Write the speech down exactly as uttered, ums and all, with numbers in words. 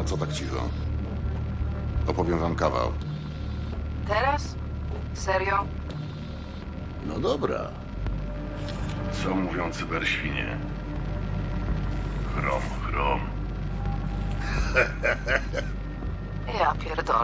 No co tak cicho? Opowiem wam kawał. Teraz? Serio? No dobra. Co mówią cyberświnie? Chrom, chrom. Ja pierdolę.